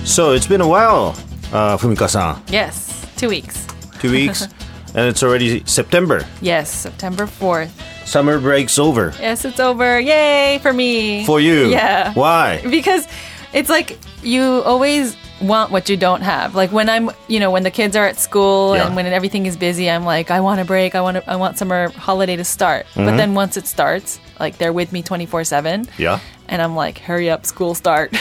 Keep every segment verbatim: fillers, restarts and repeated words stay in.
So it's been a while, uh, Fumika-san. Yes, two weeks. Two weeks, and it's already September. Yes, September fourth. Summer break's over. Yes, it's over. Yay for me. For you? Yeah. Why? Because it's like you always want what you don't have. Like when I'm, you know, when the kids are at school Yeah. and when everything is busy, I'm like, I want a break. I want to, I want summer holiday to start. Mm-hmm. But then once it starts, like they're with me twenty-four seven. Yeah. And I'm like, hurry up, school start.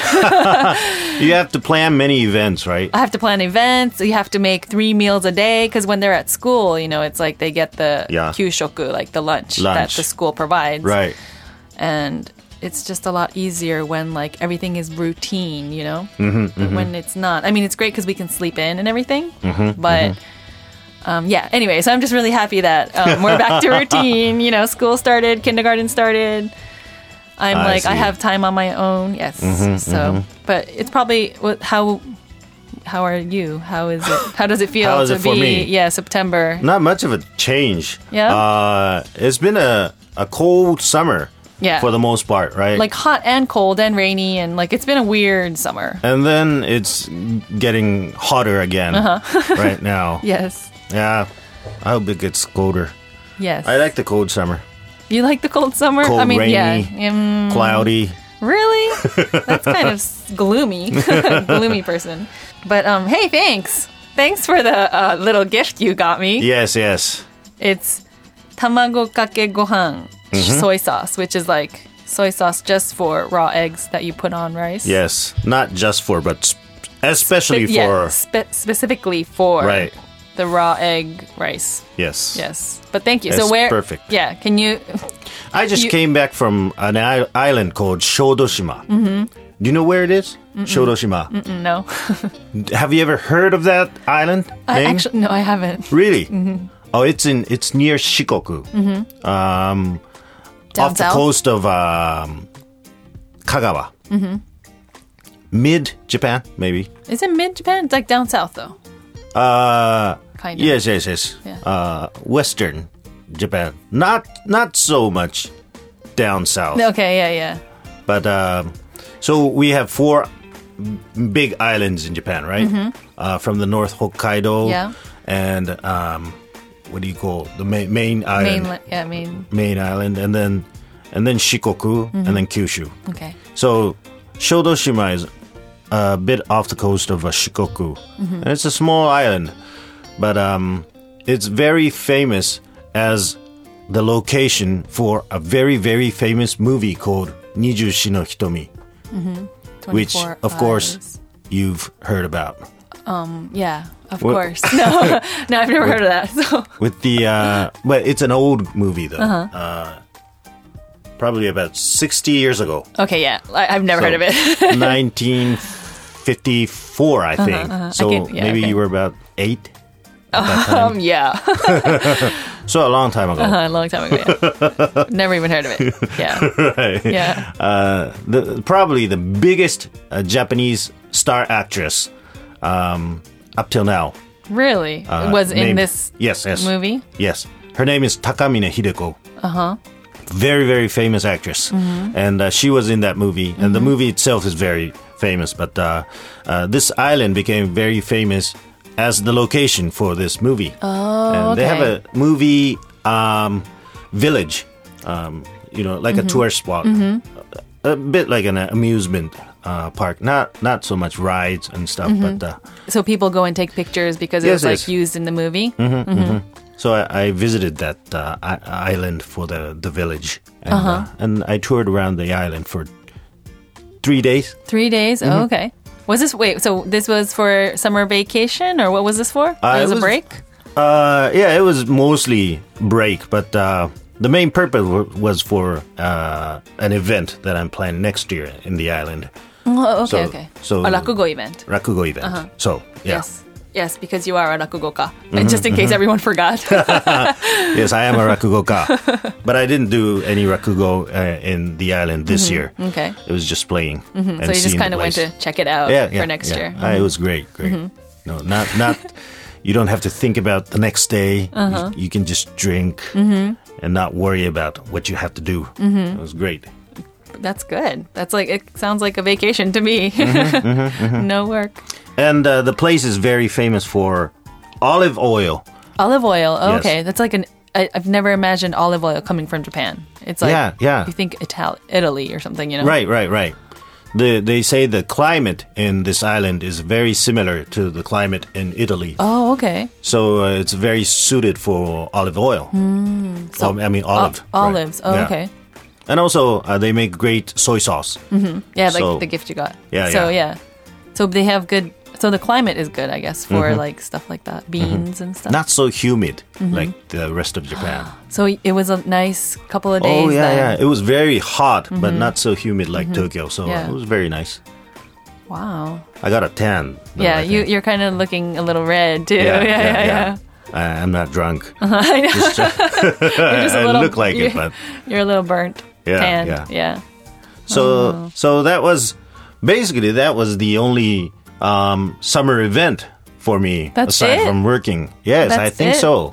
You have to plan many events, right? I have to plan events. You have to make three meals a day because when they're at school, you know, it's like they get the Yeah. kyushoku, like the lunch, that Lunch. the school provides. Right. And it's just a lot easier when like everything is routine, you know? Mm-hmm, but mm-hmm. when it's not. I mean, it's great because we can sleep in and everything. Mm-hmm, but mm-hmm. Um, yeah, anyway, so I'm just really happy that um, we're back to routine. You know, school started, kindergarten started. I'm I like, I see. have time on my own. Yes. Mm-hmm, so, mm-hmm. but it's probably what, how. How are you? How is it? How does it feel How is to it for be? me? Yeah, September. Not much of a change. Yeah? Uh, it's been a, a cold summer. Yeah. For the most part, right? Like hot and cold and rainy and like it's been a weird summer. And then it's getting hotter again Uh-huh. right now. Yes. Yeah. I hope it gets colder. Yes. I like the cold summer. You like the cold summer? Cold, I mean, rainy, yeah. Um, cloudy. really? That's kind of s- gloomy. Gloomy person. But um, hey, thanks. Thanks for the uh, little gift you got me. Yes, yes. It's tamago kake gohan Mm-hmm. soy sauce, which is like soy sauce just for raw eggs that you put on rice. Yes. Not just for, but sp- especially Spe- yeah, for. spe- specifically for Right. the raw egg rice. Yes. Yes. But thank you. That's so where? perfect. Yeah. Can you? I just You- came back from an I- island called Shodoshima. Mm-hmm. Do you know where it is? Mm-mm. Shodoshima. Mm, no. Have you ever heard of that island I name? actually no, I haven't. Really? Mm-hmm. Oh, it's in it's near Shikoku. Mm-hmm. Um, Down off the south? coast of um, Kagawa. Mm-hmm. Mid Japan, maybe. Is it mid Japan? It's like down south though. Uh, Kind of. yes, yes, yes. Yeah. Uh, Western Japan. Not not so much down south. Okay. Yeah. Yeah. But um, so we have four big islands in Japan, right? Mm-hmm. Uh, from the North Hokkaido. Yeah. And um, what do you call the main main island? Mainland. Yeah. Main. Main island, and then and then Shikoku, Mm-hmm. and then Kyushu. Okay. So Shodoshima is a bit off the coast of uh, Shikoku, Mm-hmm. and it's a small island, but um, it's very famous as the location for a very very famous movie called Nijushi no Hitomi, which twenty-four of course eyes. you've heard about. Yeah. Of What- course. No. No, I've never heard of that. So. With the, uh, but it's an old movie though. Uh, probably about sixty years ago. Okay. Yeah. I, I've never So, heard of it. nineteen fifty-four, I think. So I can- yeah, maybe okay. you were about eight at that time. um. Yeah. So a long time ago. Uh, a long time ago. Yeah. Never even heard of it. Yeah. Right. Yeah. Uh, the, probably the biggest uh, Japanese star actress um, up till now. Really? Uh, was in named- this yes, yes, movie? Yes. Her name is Takamine Hideko. Uh-huh. Very, very famous actress. Mm-hmm. And uh, she was in that movie. And the movie itself is very famous. But uh, uh, this island became very famous as the location for this movie. Oh, and they have okay. a movie um, village, um, you know, like Mm-hmm. a tourist spot. A, a bit like an amusement uh, park. Not not so much rides and stuff, Mm-hmm. but... Uh, So people go and take pictures because it Yes, was like yes. used in the movie. So I, I visited that uh, I- island for the, the village, and, uh and I toured around the island for three days. Three days. Mm-hmm. Oh, okay. Was this wait? So this was for summer vacation, or what was this for? Uh, it was it a was- break. Uh, yeah, it was mostly break, but uh, the main purpose w- was for uh, an event that I'm planning next year in the island, Oh, okay, so- okay. so- a rakugo event. rakugo event. So yeah, Yes. Yes, because you are a rakugoka. Mm-hmm, And just in case everyone forgot. yes, I am a rakugoka, but I didn't do any rakugo uh, in the island this year. Okay. It was just playing. And So you just seeing the kind of went place. to check it out yeah, for yeah, next yeah. year. Uh, it was great, great. No, not not. You don't have to think about the next day. You, you can just drink and not worry about what you have to do. It was great. that's good. That's like, it sounds like a vacation to me. Mm-hmm, mm-hmm, mm-hmm. No work. And uh, the place is very famous for olive oil. Olive oil. Oh, Yes. okay. That's like an, I, I've never imagined olive oil coming from Japan. It's like, Yeah, yeah. you think Ital- Italy or something, you know? Right, right, right. The, they say the climate in this island is very similar to the climate in Italy. Oh, okay. So uh, it's very suited for olive oil. Mm, so, Oh, I mean olive. o- right. olives. Oh, Yeah. okay. And also uh, they make great soy sauce. Mm-hmm. Yeah, like So- the gift you got. Yeah, So, yeah. yeah. So they have good, so the climate is good, I guess, for Mm-hmm. like stuff like that. Beans and stuff. Not so humid Mm-hmm. like the rest of Japan. So it was a nice couple of days Oh yeah, then. yeah. It was very hot, but not so humid like Tokyo. So Yeah. it was very nice. Wow. I got a tan. though, Yeah, I you, think. you're kind of looking a little red too. Yeah, Yeah, yeah, yeah. I, I'm not drunk. I know. Just, uh, You're just a I little, look like it, you're, but you're a little burnt. Yeah, tanned. yeah. Yeah. so Oh. so that was basically that was the only um, summer event for me That's aside it? from working. Yes, I That's think it? so.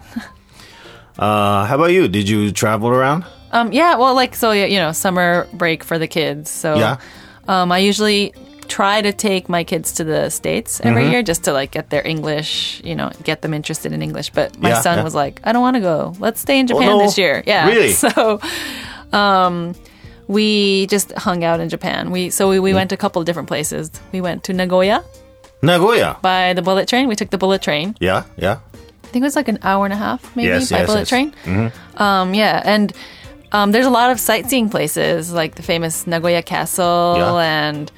Uh, how about you? Did you travel around? Um, yeah, well, like, so, you know, summer break for the kids. So Yeah. um, I usually try to take my kids to the States every Mm-hmm. year just to, like, get their English, you know, get them interested in English. But my Yeah, son yeah. was like, I don't want to go. Let's stay in Japan no. this year. Yeah. Really? So um, we just hung out in Japan. We So we, we Mm. went to a couple of different places. We went to Nagoya Nagoya. by the bullet train. We took the bullet train. Yeah, yeah. I think it was like an hour and a half, maybe, Yes, by yes, bullet yes. train. Um, yeah, and um, there's a lot of sightseeing places, like the famous Nagoya Castle, Yeah. and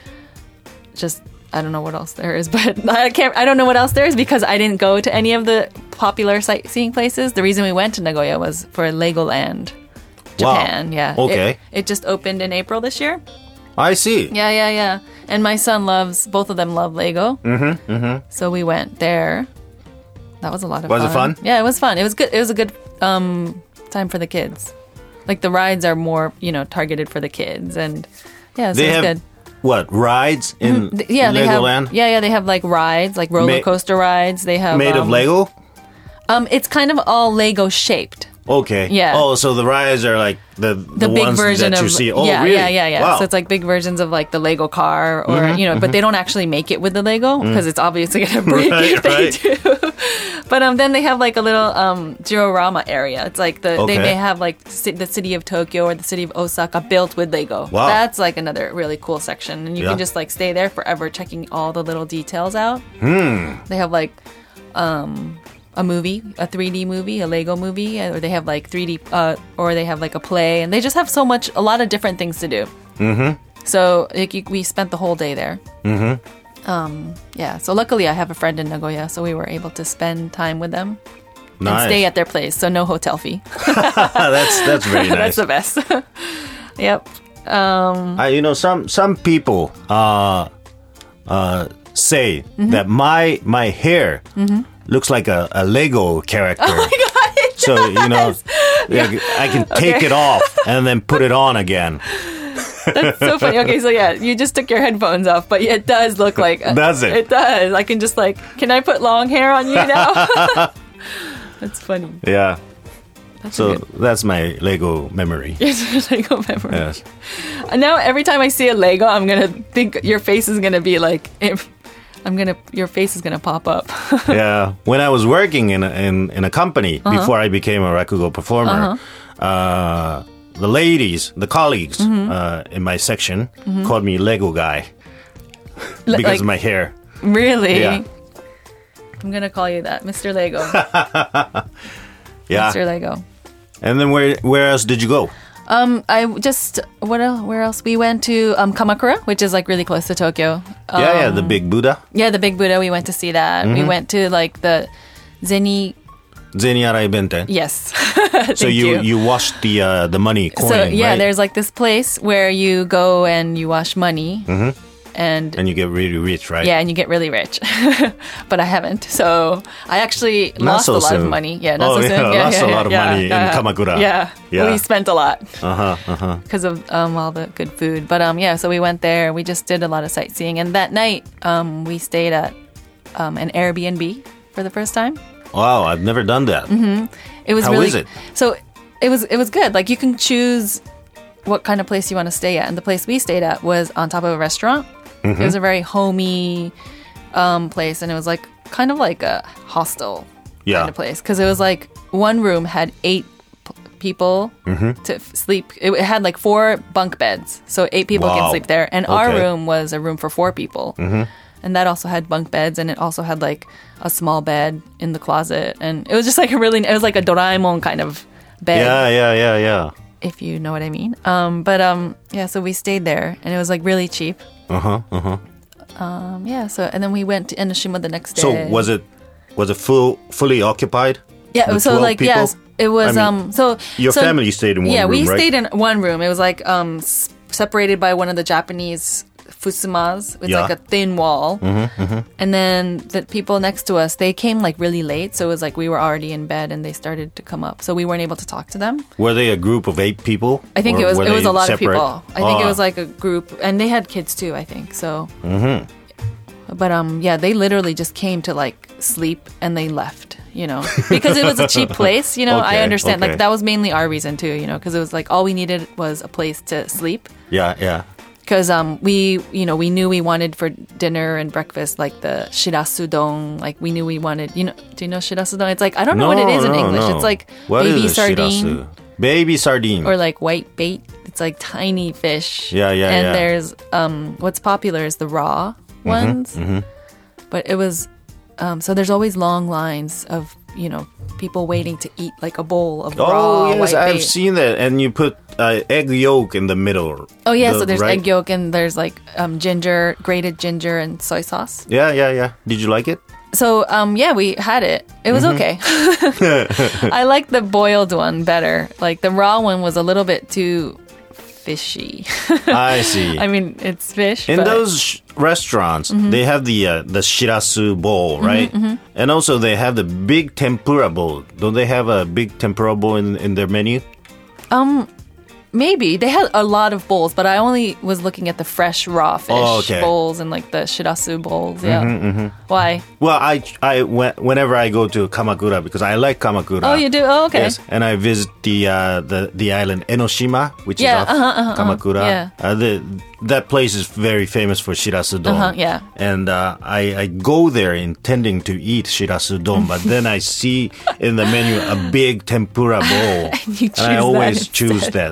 just I don't know what else there is, but I can't. I don't know what else there is because I didn't go to any of the popular sightseeing places. The reason we went to Nagoya was for Legoland, Japan. Wow. Yeah. Okay. It, it just opened in April this year. I see. Yeah, yeah, yeah. And my son loves. Both of them love Lego. Mm-hmm. Mm-hmm. So we went there. That was a lot of Was fun. it fun? Yeah, it was fun. It was good. It was a good um, time for the kids. Like the rides are more, you know, targeted for the kids, and yeah, so They it's have good. what rides in Th- Yeah, they have. Legoland Yeah, yeah, they have like rides, like roller Ma- coaster rides. They have made um, of Lego. Um, it's kind of all Lego shaped. Okay. Yeah. Oh, so the rides are like the the, The big ones version that of you see. Oh, yeah, really? yeah, yeah, yeah. Wow. Mm-hmm, So it's like big versions of like the Lego car, or you know, but they don't actually make it with the Lego because it's obviously gonna break Right, if they right. do. But um, then they have like a little um diorama area. It's like the Okay. they may have like ci- the city of Tokyo or the city of Osaka built with Lego. Wow. That's like another really cool section, and you Yeah. can just like stay there forever, checking all the little details out. Hmm. They have like um a movie, a three D movie, a Lego movie, or they have like three D, uh, or they have like a play, and they just have so much, a lot of different things to do. Mm-hmm. So like, you, we spent the whole day there. Mm-hmm. Um, yeah. So luckily, I have a friend in Nagoya, so we were able to spend time with them Nice. and stay at their place. So no hotel fee. that's that's very nice. That's the best. Yep. Um, I, you know, some some people uh, uh, say Mm-hmm. that my my hair looks like a, a Lego character. oh my god. it So you know, does. like, I can take Okay. it off and then put it on again. That's so funny. Okay, so yeah, you just took your headphones off, but it does look like. Does it? It does. I can just like, can I put long hair on you now? That's funny. Yeah. That's So a good. that's my Lego memory. It's a Lego memory. Yes. And now every time I see a Lego, I'm gonna think your face is gonna be like, if I'm gonna, your face is gonna pop up. Yeah. When I was working in a, in in a company Uh-huh. before I became a rakugo performer, uh, the ladies, the colleagues Mm-hmm. uh, in my section called me Lego guy because like- of my hair. Really? Yeah. I'm gonna call you that, Mister Lego. Yeah. Mister Lego. And then where where else did you go? Um, I just what else? Where else? We went to um Kamakura, which is like really close to Tokyo. Um, yeah, yeah, the big Buddha, Yeah, the big Buddha. We went to see that. We Mm-hmm. went to like the Zeni. Zeniarai Benten. Yes. So Thank you, you. you washed the uh, the money coin, So yeah, right? there's like this place where you go and you wash money, and and you get really rich, right? yeah, and you get really rich. But I haven't, so I actually Not lost so a lot soon. of money. Yeah, not Oh, so yeah, soon. lost a lot of money in Kamakura. Yeah, Yeah. we spent a lot Uh huh. Uh huh. because of um, all the good food. But um, yeah, so we went there. We just did a lot of sightseeing, and that night um, we stayed at um, an Airbnb for the first time. Wow, I've never done that. It was How really is it? so. It was it was good. Like you can choose what kind of place you want to stay at. And the place we stayed at was on top of a restaurant. Mm-hmm. It was a very homey um, place, and it was like kind of like a hostel yeah. kind of place because it was like one room had eight p- people mm-hmm. to f- sleep. It, it had like four bunk beds, so eight people wow. can sleep there. And okay. our room was a room for four people. Mm-hmm. And that also had bunk beds, and it also had like a small bed in the closet, and it was just like a really, it was like a Doraemon kind of bed. Yeah, yeah, yeah, yeah. If you know what I mean. Um, but um, yeah, so we stayed there, and it was like really cheap. Uh huh. Uh huh. Um, yeah. So and then we went to Enoshima the next day. So was it was it full fully occupied? Yeah. So like people? yes, it was. I mean, um. So your so, family stayed in one yeah, room, we right? stayed in one room. It was like um s- separated by one of the Japanese fusumas. It's yeah. like a thin wall. Mm-hmm, mm-hmm. And then the people next to us, they came like really late. So it was like we were already in bed and they started to come up. So we weren't able to talk to them. Were they a group of eight people? I think it was it was a lot separate? of people. I think oh. it was like a group. And they had kids too, I think. So. Mm-hmm. But um, yeah, they literally just came to like sleep and they left, you know, because it was a cheap place, you know. okay, I understand. okay. Like that was mainly our reason too, you know, because it was like all we needed was a place to sleep. Yeah, yeah. Because um, we, you know, we knew we wanted for dinner and breakfast like the shirasudon. Like we knew we wanted, you know, do you know shirasudon? It's like I don't know no, what it is no, in English. No. It's like what baby is sardine. Shirasu? Baby sardine. Or like white bait. It's like tiny fish. Yeah, yeah, and yeah. there's um, what's popular is the raw ones. Mm-hmm, mm-hmm. But it was, um, so there's always long lines of, you know, people waiting to eat like a bowl of oh, raw yes, white I've bait. seen that. And you put uh, egg yolk in the middle. Oh, yeah, the, so there's right? egg yolk and there's like um, ginger, grated ginger and soy sauce. Yeah, yeah, yeah. Did you like it? So, um, yeah, we had it. It was mm-hmm. okay. I like the boiled one better. Like the raw one was a little bit too fishy. I see. I mean, it's fish. In but... those sh- restaurants, mm-hmm. they have the uh, the shirasu bowl, right? Mm-hmm, mm-hmm. And also they have the big tempura bowl. Don't they have a big tempura bowl in, in their menu? Um, maybe. They had a lot of bowls, but I only was looking at the fresh raw fish oh, okay. bowls and like the shirasu bowls. Yeah. Mm-hmm, mm-hmm. Why? Well, I, I, whenever I go to Kamakura, because I like Kamakura. Oh, you do? Oh, okay. Yes, and I visit the uh, the the island Enoshima, which yeah, is off uh-huh, uh-huh, Kamakura. Yeah. Uh, the, that place is very famous for shirasu don. Uh-huh, yeah. And uh, I, I go there intending to eat shirasu don, but then I see in the menu a big tempura bowl, and, you choose and I always that choose that.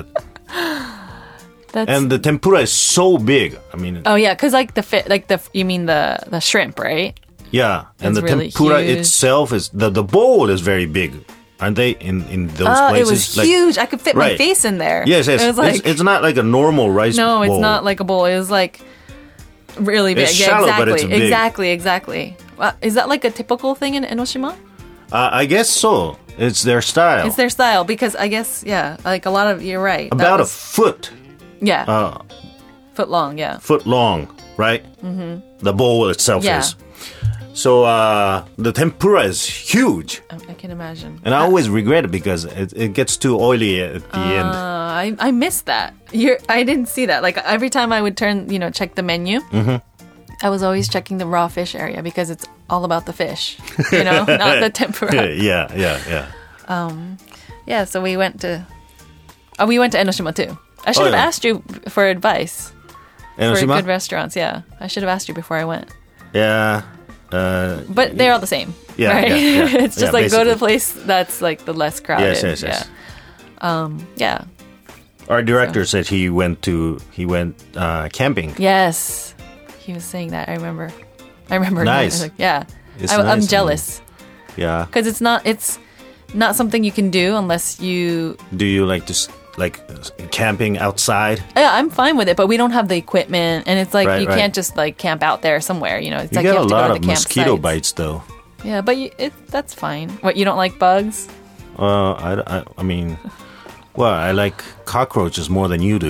That's... And the tempura is so big. I mean, oh yeah, because like the fit, like the you mean the the shrimp, right? Yeah, and it's the really tempura huge. itself is the the bowl is very big, aren't they? In in those oh, places, it was like, huge. I could fit right. my face in there. Yes, yes. It was like it's, it's not like a normal rice no, bowl. it's not like a bowl. It was like really big. It's yeah, shallow, exactly, but it's big. exactly, exactly. Well, is that like a typical thing in Enoshima? Uh, I guess so. It's their style. It's their style because I guess yeah, like a lot of you're right. About was, a foot. Yeah. Uh, foot long. Yeah. Foot long, right? Mm-hmm. The bowl itself yeah. is. So uh, the tempura is huge. I can imagine. And I always regret it because it, it gets too oily at the uh, end. I I missed that. You're, I didn't see that. Like every time I would turn, you know, check the menu, mm-hmm. I was always checking the raw fish area because it's all about the fish, you know, not the tempura. yeah, yeah, yeah. Um, yeah. So we went to, oh, we went to Enoshima too. I should oh, have yeah. asked you for advice Enoshima? for good restaurants. Yeah, I should have asked you before I went. Yeah. Uh, but they're all the same. Yeah, right? yeah, yeah. It's just yeah, like basically. go to the place that's like the less crowded. Yes, yes, yes. Yeah. Um, yeah. Our director so. said he went to he went uh, camping. Yes, he was saying that. I remember. I remember. Nice. Like, yeah. It's I, nice I'm jealous. Yeah. Because it's not. It's not something you can do unless you. Do you like just like camping outside? Yeah, I'm fine with it, but we don't have the equipment, and it's like right, you right. can't just like camp out there somewhere. You know, it's you like get you have a to lot go to of the mosquito campsites. bites, though. Yeah, but you, it, that's fine. What, you don't like bugs? Uh, I, I, I mean, well, I like cockroaches more than you do.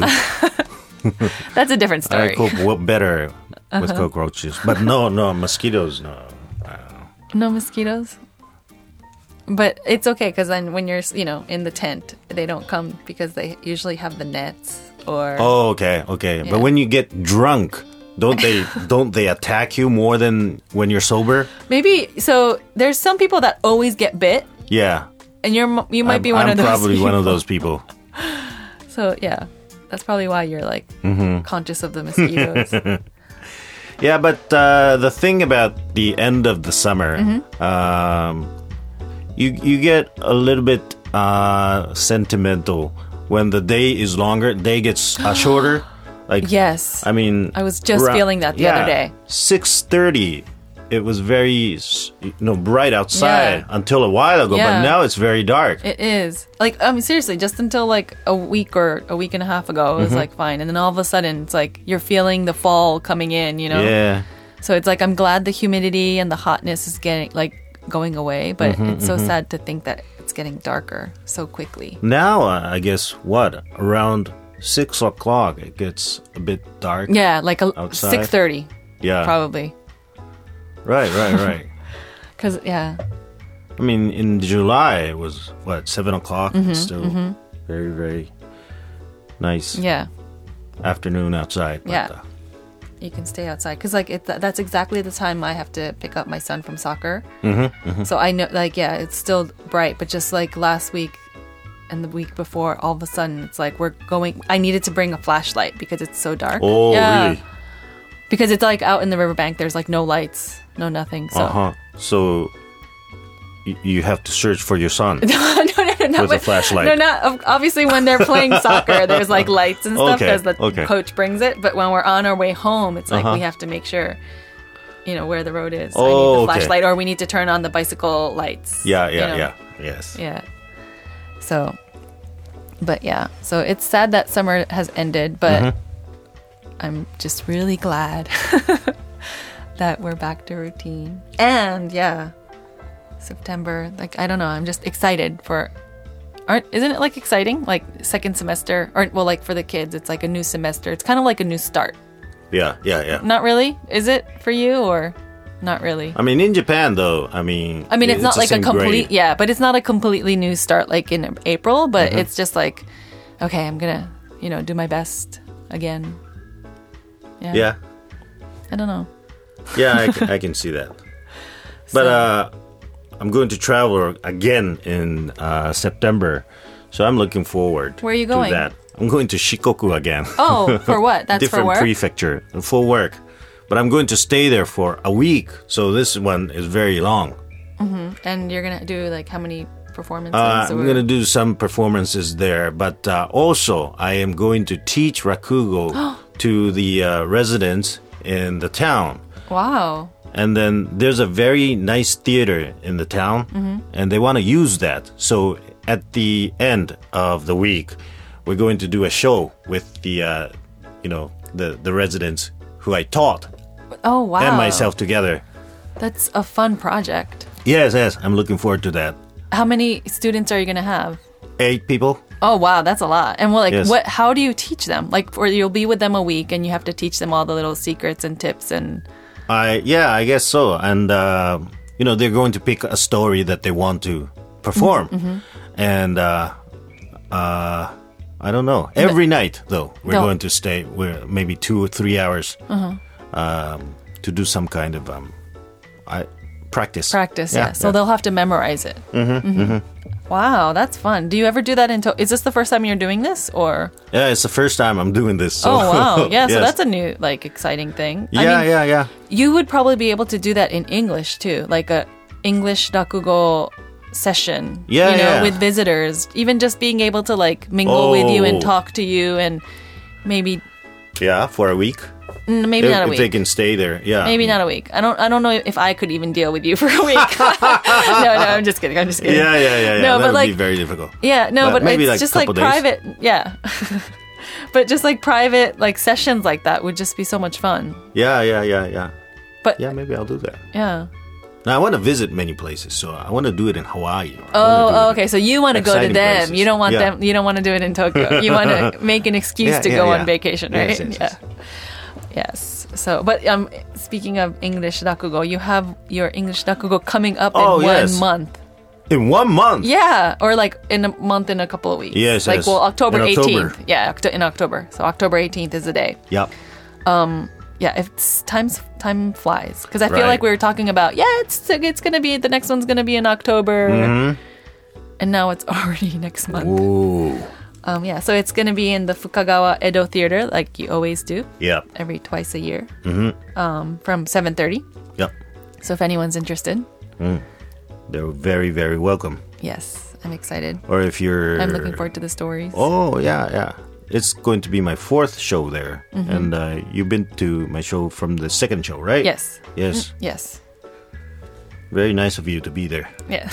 That's a different story. I cope w- better with uh-huh. cockroaches, but no, no mosquitoes. No, I don't know. No mosquitoes. But it's okay because then when you're, you know, in the tent, they don't come because they usually have the nets or. Oh, okay, okay. Yeah. But when you get drunk, don't they don't they attack you more than when you're sober? Maybe so. There's some people that always get bit. Yeah. And you're you might I'm, be one I'm of those. I'm probably people. one of those people. So yeah. That's probably why you're like conscious of the mosquitoes. Yeah, but uh, the thing about the end of the summer, mm-hmm. um, you you get a little bit uh, sentimental when the day is longer. Day gets uh, shorter. Like yes, I mean, I was just ra- feeling that the yeah, other day. six thirty. It was very, you know, bright outside Yeah. until a while ago, Yeah. but now it's very dark. It is. Like, I mean, seriously, just until like a week or a week and a half ago, it was Mm-hmm. like fine. And then all of a sudden, it's like you're feeling the fall coming in, you know? Yeah. So it's like I'm glad the humidity and the hotness is getting, like, going away, but Mm-hmm, it's so sad to think that it's getting darker so quickly. Now, uh, I guess, what? Around six o'clock, it gets a bit dark. Yeah, like a Outside? six thirty, Yeah. probably. Right, right, right. Because, yeah. I mean, in July, it was, what, seven o'clock? Mm-hmm, It's still very, very nice Yeah. afternoon outside. But, Yeah. uh, You can stay outside because like it, that's exactly the time I have to pick up my son from soccer. Mm-hmm, mm-hmm. So I know, like, yeah, it's still bright, but just like last week and the week before, all of a sudden it's like we're going. I needed to bring a flashlight because it's so dark. Oh, yeah. really? Because it's like out in the riverbank. There's like no lights, no nothing. So Uh-huh. So, y- you have to search for your son. no, no, no, no, With a but- flashlight. No, not obviously when they're playing soccer. There's like lights and stuff Okay, because the okay. coach brings it. But when we're on our way home, it's like Uh-huh. we have to make sure, you know, where the road is. So I Oh, need the okay. flashlight, or we need to turn on the bicycle lights. Yeah, you yeah, know. yeah. Yes. Yeah. So, but yeah, so it's sad that summer has ended, but Mm-hmm. I'm just really glad that we're back to routine. And yeah, September, like, I don't know, I'm just excited for, aren't, isn't it like exciting? Like second semester, or well, like for the kids, it's like a new semester. It's kind of like a new start. Yeah, yeah, yeah. Not really? Is it for you or not really? I mean, in Japan, though, I mean... I mean, it's, not the like a same complete, grade. yeah, but it's not a completely new start like in April, but Mm-hmm. it's just like, okay, I'm gonna, you know, do my best again. Yeah. Yeah, I don't know. yeah, I, can- I can see that. But So- uh, I'm going to travel again in uh, September, so I'm looking forward Where are you to going? that. I'm going to Shikoku again. Oh, for what? That's for Different work? prefecture, for work. But I'm going to stay there for a week, so this one is very long. And you're gonna do like how many performances? Uh, I'm or- going to do some performances there, but uh, also I am going to teach rakugo to the uh, residents in the town. Wow. And then there's a very nice theater in the town, Mm-hmm. and they want to use that. So at the end of the week, we're going to do a show with the, uh, you know, the the residents who I taught Oh, wow. and myself together. That's a fun project. Yes, yes, I'm looking forward to that. How many students are you gonna have? Eight people. Oh, wow, that's a lot. And well, like, Yes. what? How do you teach them? Like, or you'll be with them a week, and you have to teach them all the little secrets and tips and. I yeah, I guess so. And uh, you know, they're going to pick a story that they want to perform, Mm-hmm. and uh, uh, I don't know. Every night, though, we're No. going to stay. We're maybe two or three hours Uh-huh. um, to do some kind of um, I practice. Practice, yeah. So yeah. they'll have to memorize it. Mm-hmm, mm-hmm. Wow, that's fun. Do you ever do that in? To- Is this the first time you're doing this, or? Yeah, it's the first time I'm doing this. So. Oh wow, yeah. So Yes. that's a new, like, exciting thing. yeah, I mean, yeah, yeah. You would probably be able to do that in English too, like a English rakugo session. Yeah, you know, yeah. with visitors, even just being able to like mingle with you and Oh. talk to you, and maybe, Yeah, for a week. mm, maybe if, not a if week. they can stay there, yeah. Maybe not a week. I don't. I don't know if I could even deal with you for a week. no, no. I'm just kidding. I'm just kidding. Yeah, yeah, yeah, yeah. No, that but would like, be very difficult. yeah, no, But but, maybe, it's like, just like couple days. private. Yeah, but just like private, like sessions like that would just be so much fun. Yeah, yeah, yeah, yeah. But Yeah, maybe I'll do that. yeah. Now, I want to visit many places, so I want to do it in Hawaii. I wanna do Oh, it okay. So you want to go to exciting them. places. You don't want Yeah. them. You don't want to do it in Tokyo. You want to make an excuse Yeah, to yeah, go yeah. on vacation, right? Yes, yes, yeah. Yes. So, but um, speaking of English rakugo, you have your English rakugo coming up Oh, in one yes. month. In one month? Yeah, or like in a month in a couple of weeks. Yes, like yes. well, October In October. eighteenth. Yeah, Octo- in October. So October eighteenth is the day. Yep. Yeah, it's time's time flies because I feel Right. like we were talking about yeah, it's it's gonna be the next one's gonna be in October, Mm-hmm. and now it's already next month. Ooh. Um, yeah, so it's going to be in the Fukagawa Edo Theater, like you always do. Yep. Every twice a year. Mm-hmm. Um, from seven thirty. Yep. So if anyone's interested. Mm. They're very, very welcome. Yes, I'm excited. Or if you're... I'm looking forward to the stories. Oh, yeah, yeah. It's going to be my fourth show there. Mm-hmm. And uh, you've been to my show from the second show, right? Yes. Yes. Yes. Very nice of you to be there. Yeah.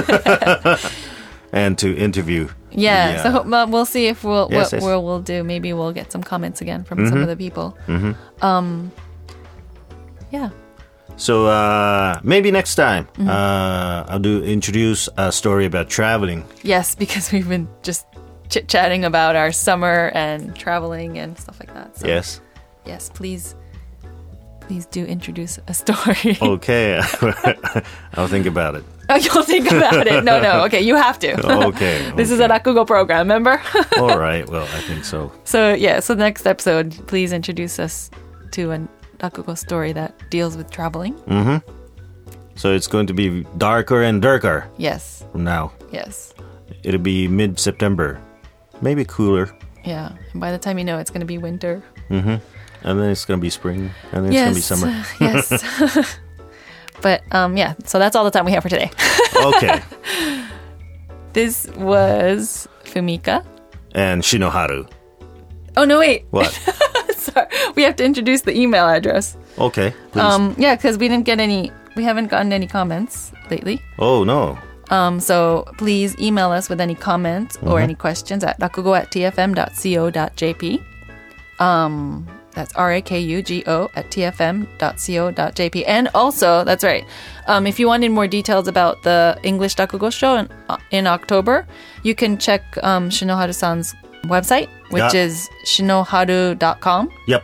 And to interview. Yeah, the, uh, so uh, we'll see if we'll yes, what yes. we'll, we'll do. Maybe we'll get some comments again from Mm-hmm. some of the people. Mm-hmm. Um, yeah. So uh, maybe next time Mm-hmm. uh, I'll do introduce a story about traveling. Yes, because we've been just chit-chatting about our summer and traveling and stuff like that. So, Yes. yes, please, please do introduce a story. Okay. I'll think about it. Oh, you'll think about it. No, no. Okay, you have to. Okay. This is a okay. Rakugo program, remember? All right. Well, I think so. So, yeah, so the next episode, please introduce us to a Rakugo story that deals with traveling. Mm-hmm. So it's going to be darker and darker Yes, from now. yes. It'll be mid-September. Maybe cooler. Yeah, and by the time you know, it's going to be winter. Mm-hmm. And then it's going to be spring. And then Yes, it's going to be summer. yes. But, um, yeah, so that's all the time we have for today. Okay. This was Fumika. And Shinoharu. Oh, no, wait. What? Sorry. We have to introduce the email address. Okay. Please. Um, yeah, because we didn't get any, we haven't gotten any comments lately. oh, no. Um, so please email us with any comments or any questions at rakugo at t f m dot co dot j p. Um, that's R A K U G O at t f m dot co dot j p. And also, that's right, um, if you wanted more details about the English Rakugo show in, uh, in October, you can check um, Shinoharu-san's website, which Yeah. is shinoharu dot com. Yep.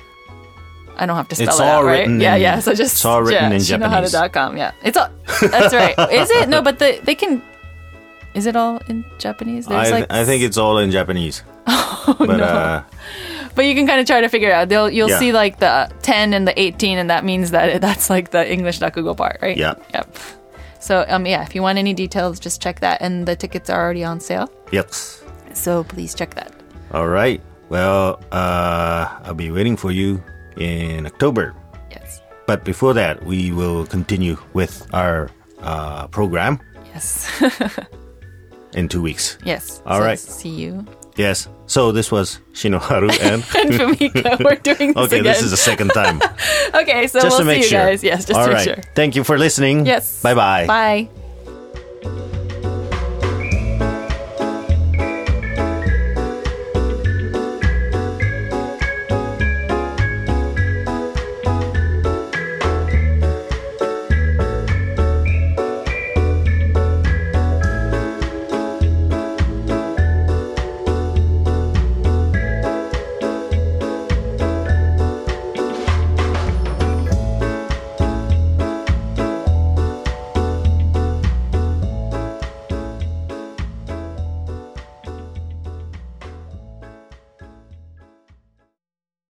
I don't have to spell It's it out, all right? written Yeah, in- yeah. So just it's all written yeah, in Japanese. shinoharu dot com. Yeah, it's all. That's right. Is it? No, but the, they can. Is it all in Japanese? I, like I think it's all in Japanese. Oh, but no. uh, But you can kind of try to figure it out. They'll you'll Yeah. see like the ten and the eighteen, and that means that it, that's like the English Rakugo part, right? Yeah. Yep. So um yeah, if you want any details, just check that, and the tickets are already on sale. yes. So please check that. All right. Well, uh, I'll be waiting for you in October. Yes. But before that, we will continue with our uh, program Yes. in two weeks. Yes. All so right. See you. Yes. So this was Shinoharu and... And Fumika, we're doing this okay, again. this is the second time. Okay, so Just we'll to make see you sure. guys. Yes, just All to right. make sure. Thank you for listening. Yes. Bye-bye. Bye.